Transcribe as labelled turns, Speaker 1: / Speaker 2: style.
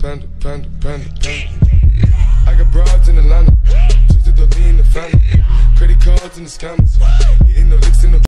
Speaker 1: panda, panda, panda, panda. I got broads in Atlanta, chicks that don't lean the family. Credit cards in the scammers, hitting the licks in the